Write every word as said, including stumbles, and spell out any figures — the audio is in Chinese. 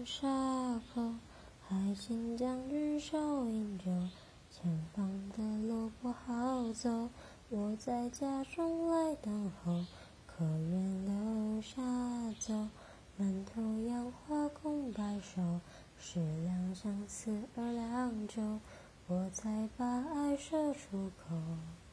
沙口，还请将军收饮酒。前方的路不好走，我在家中来等候。可愿留下走？满头杨花空白首，十两相思二两酒，我才把爱说出口。